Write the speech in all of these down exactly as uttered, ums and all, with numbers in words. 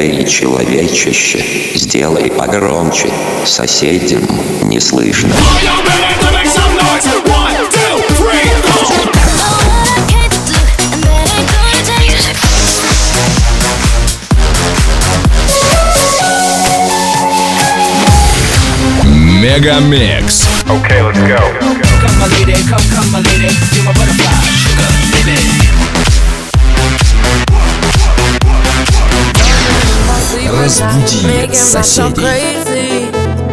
Эй, человечище, сделай погромче, соседям не слышно. Мегамикс. Okay, let's go. Come my lady, come, come my lady, you're my butterfly, sugar, baby. Разбуди соседей.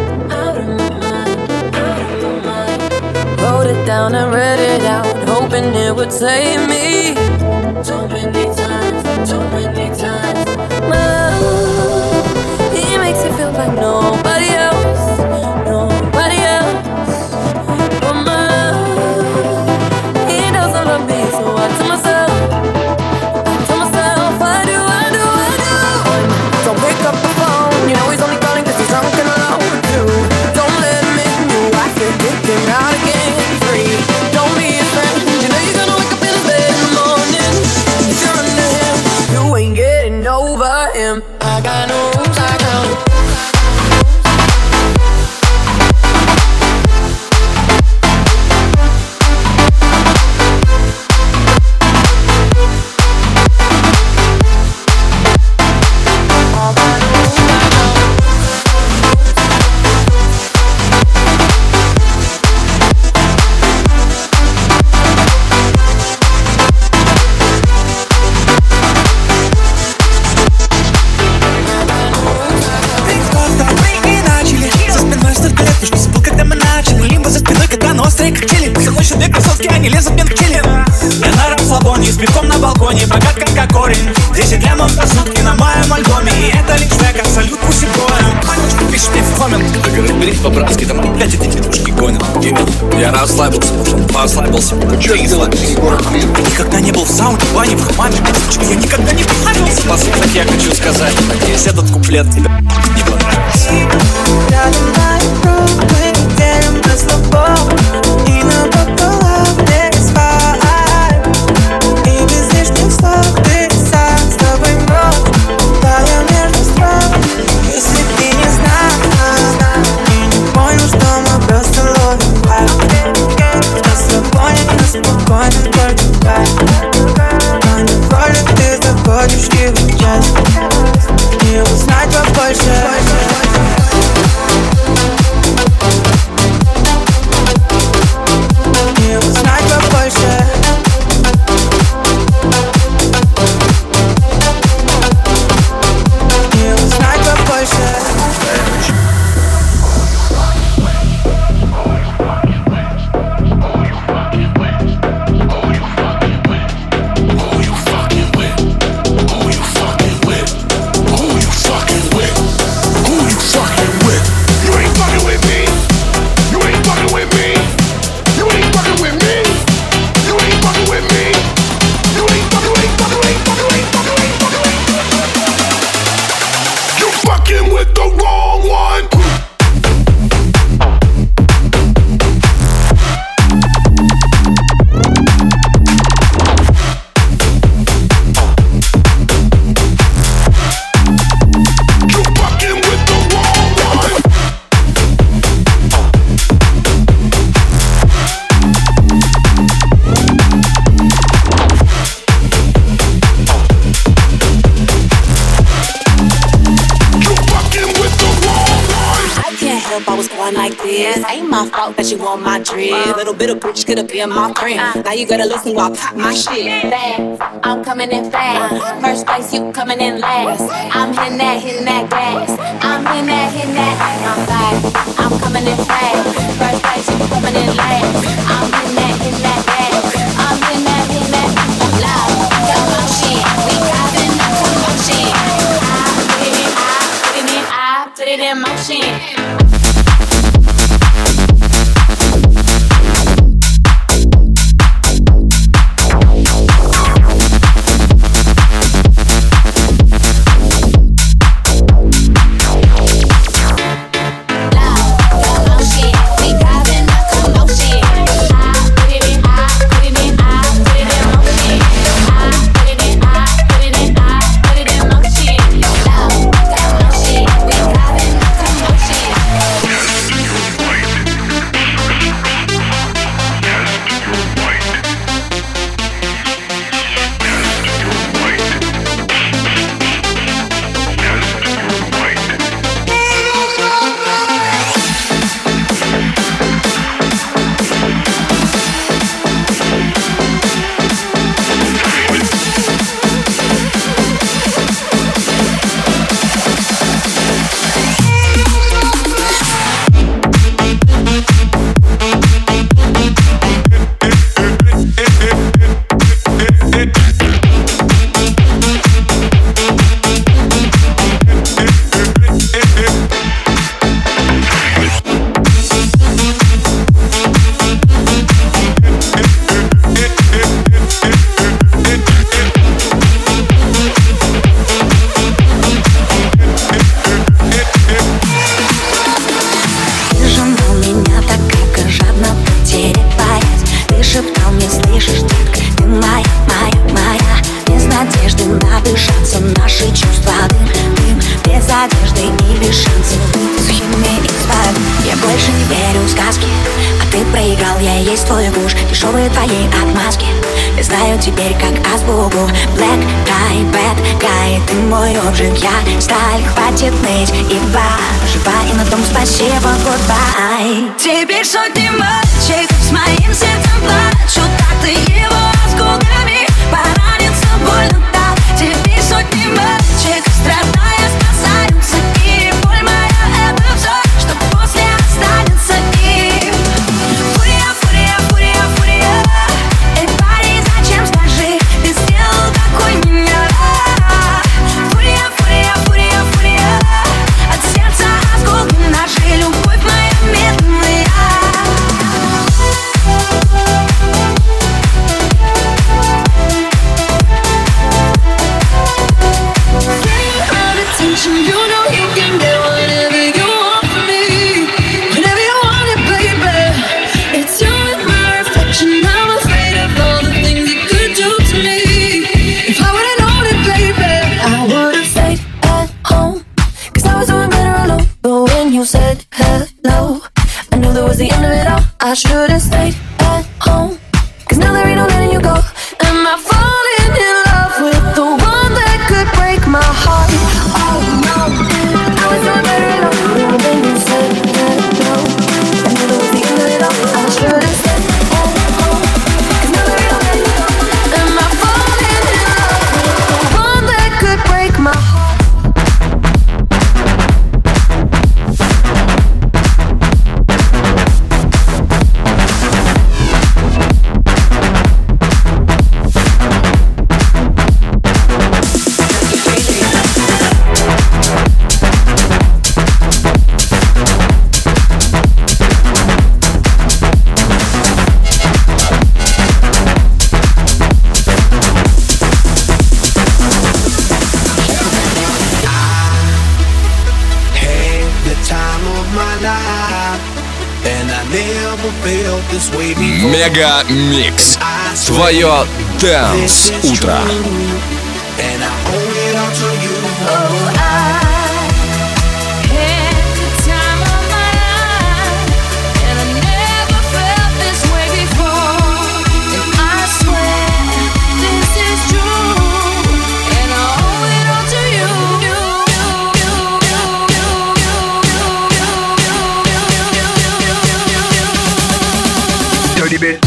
Wrote it down and read it out, hoping it would save me. Too many times, too many times. My love, he makes it feel like nobody else, nobody else. But my love, he doesn't love me, so I tell myself, I tell myself, I do, I do, I do. Don't pick up the phone, you know he's only calling 'cause he's drunk and alone too. Don't let him in, you I can kick him out again. Free, don't be his friend. You know you're gonna wake up in his bed in the morning. If you're under him, you ain't getting over him. I got no rules, I got no. Они лезут мне в челюсть. Я на расслабоне, с битком на балконе, богат как корень. Десять лямов за сутки на моем альбоме. И это лишь трек, абсолют пусибоем. Мальчик, пишет мне в коммент. Разберись по-братски, там опять эти тетушки гонят. Я расслабился, послабился. Ты никогда не был в сауне, в бане, в хамаме. Я никогда не плавился. Последок я хочу сказать, надеюсь, этот куплет тебе не понравился. Рядом на мы делим на слабо. И на пополам не спать. И без лишних слов ты сам с тобой ночь. Тая между строк. Если ты не знал и не понял, что мы просто ловим вайб. На свободе, на спокойном только кайф. Но невольно ты заходишь и в час. Не узнать побольше. Ain't my fault that you want my drip. Little bit of bitch could have been my friend. Now you gotta listen while I pop my shit. Fast, I'm coming in fast. First place, you coming in last. I'm hitting that, hitting that gas. I'm hitting that, hitting that. I'm fast, I'm coming in fast. First place, you coming in last. I'm hitting that, hitting that gas. I'm hitting that, hitting that. Loud, commotion. We causing a commotion. I put it in, I put it in, I put it in motion. Loud. весь твой куш, дешевые твои отмазки. Я знаю теперь как азбуку. Black guy, bad guy, ты мой обжиг, я сталь. Хватит ныть и проживай, и на том спасибо, goodbye. Теперь сотни мальчиков с моим сердцем плачут, а ты его осколками поранится больно так. Теперь сотни мальчиков, страдая, спасаются, и боль моя — это все, что после останется им. Фурия, фурия, фурия, фурия. Эй, парень, зачем, скажи, ты сделал такой меня? Фурия, фурия, фурия, фурия. От сердца осколки ножи, любовь моя медленная. You know you can get whatever you want from me, whenever you want it, baby. It's you and my reflection. I'm afraid of all the things you could do to me. If I would've known it, baby, I would've stayed at home, cause I was doing better alone. But when you said hello, I knew that was the end of it all. I should've stayed at home, cause now there ain't no letting you go. Am I falling in love with the one that could break my heart? Oh no, I was doing better alone. But when you said hello, I knew that was the end of it all. I should've stayed at home, cause now there ain't no letting you go. Am I falling in love with the one that could break my heart? Мега Микс. Твое Dance утро. Dirty bit.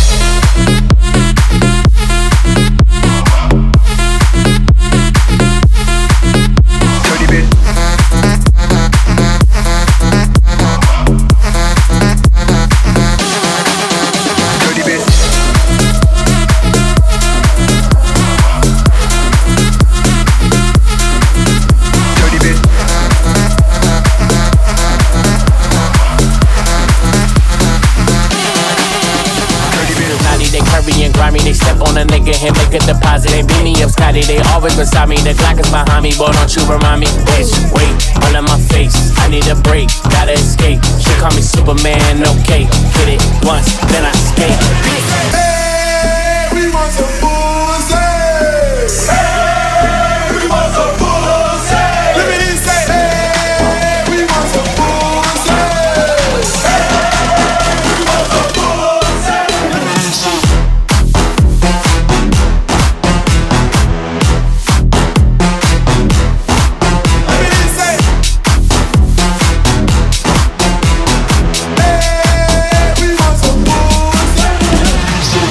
They step on a nigga and make a deposit. They beat me up, Scotty, they always beside me. The Glock is behind me, boy, don't you remind me. Bitch, wait, all in my face. I need a break, gotta escape. She call me Superman, okay. Hit it once, then I skate. Hey, we want some bullseye. Hey, we want some bullseye. Let me say, hey, we want some bullseye. Hey, we want some bullseye. Shoot.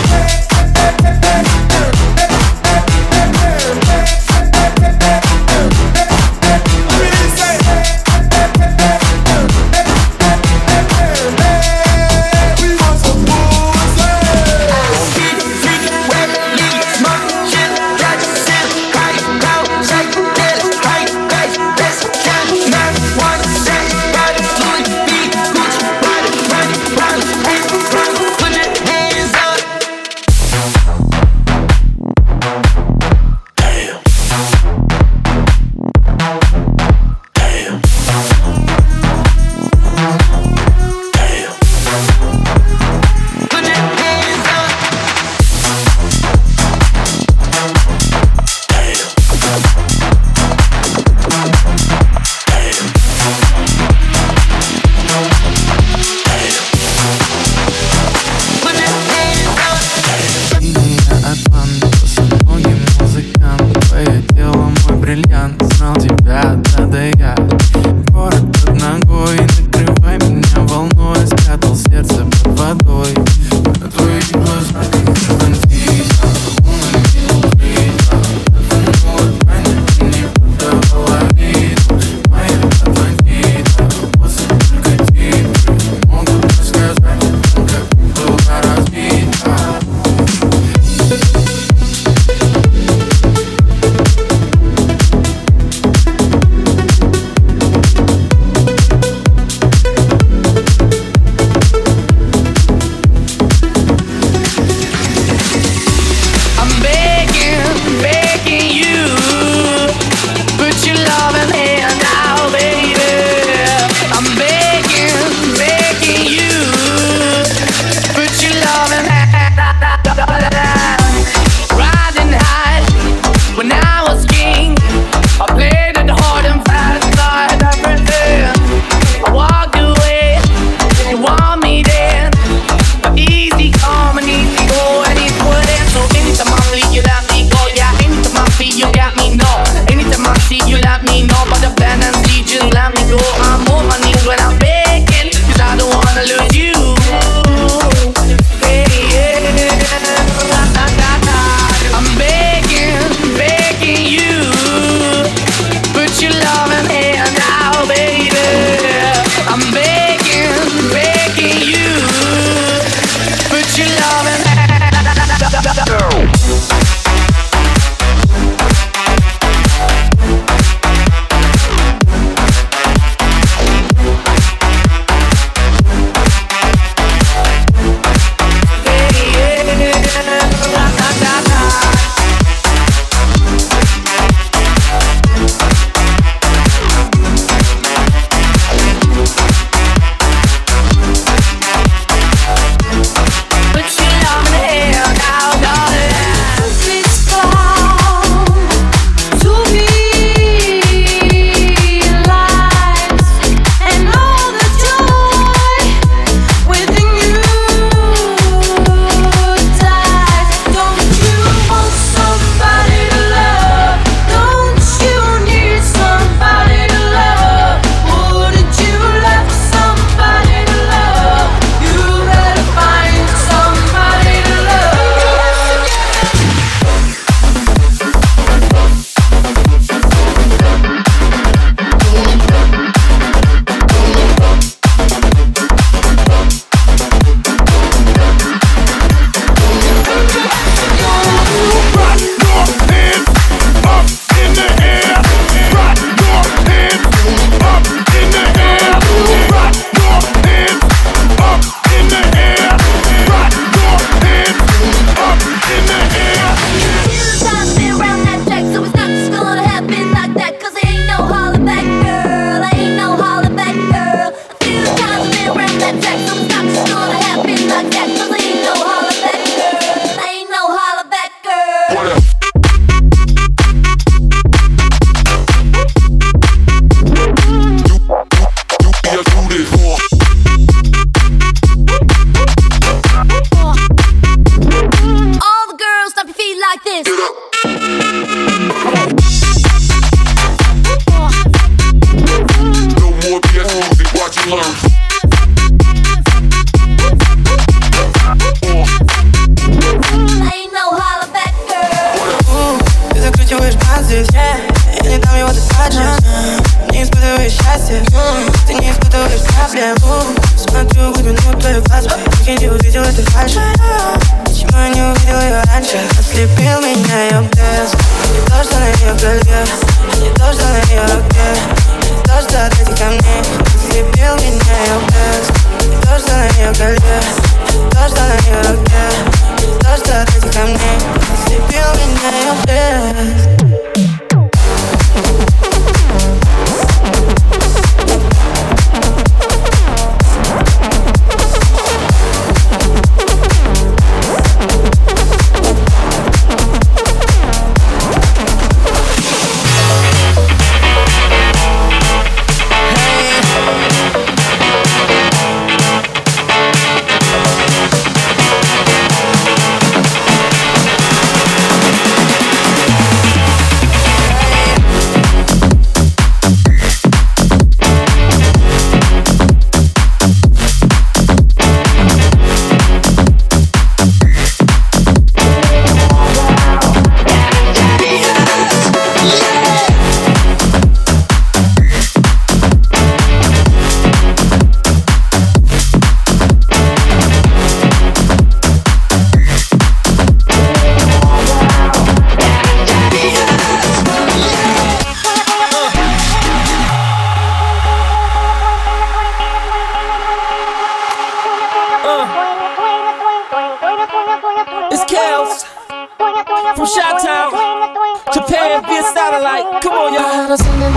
счастье. Ты не испытываешь проблему. Смотрю в глубину твоих глаз, я не увидел этой фальши. Почему я не увидел ее раньше? Ослепил меня ее блеск. Не то, что на ее колье, не то, что на ее руке, не то, что от этих камней. Ослепил меня ее блеск. Не то, что на ее колье, не то, что на ее руке, не то, что от этих камней. Ослепил меня ее блеск. From Chi-Town, Japan via satellite. Come on, y'all.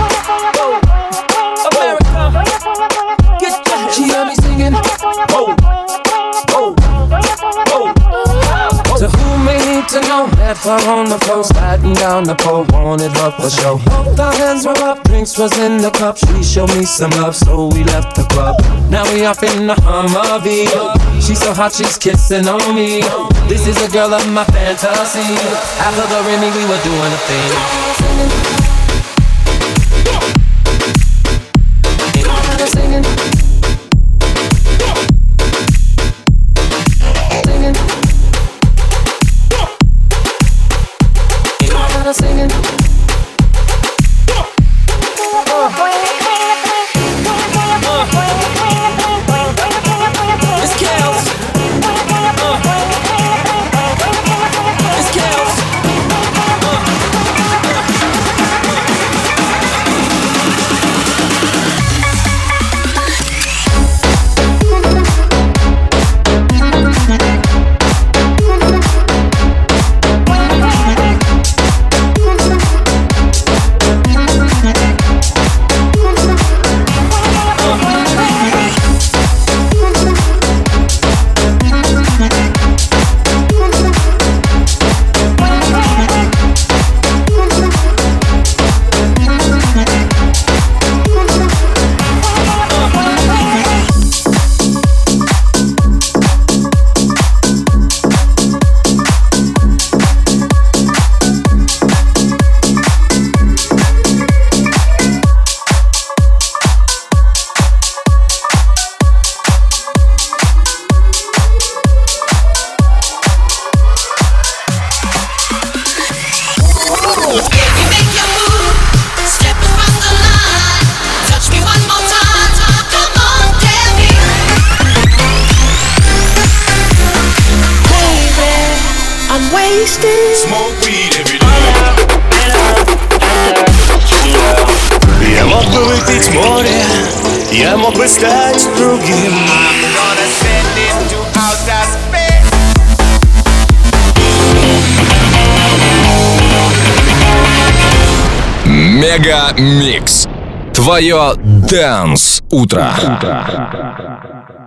America, get your. She heard me singing. Oh, oh, oh. To who may need to know that her on the floor, sliding down the pole, wanted her for show. Both our hands were up, drinks was in the cup. She showed me some love, so we left the club. Now we off in the Humvee. She's so hot, she's kissing on me. This is a girl of my fantasy. After the Remy, we were doing a thing. Singing. Singing. Smoke weed every day. Я мог бы выпить море, я мог бы стать другим. Мега Микс. Твое Dance утро.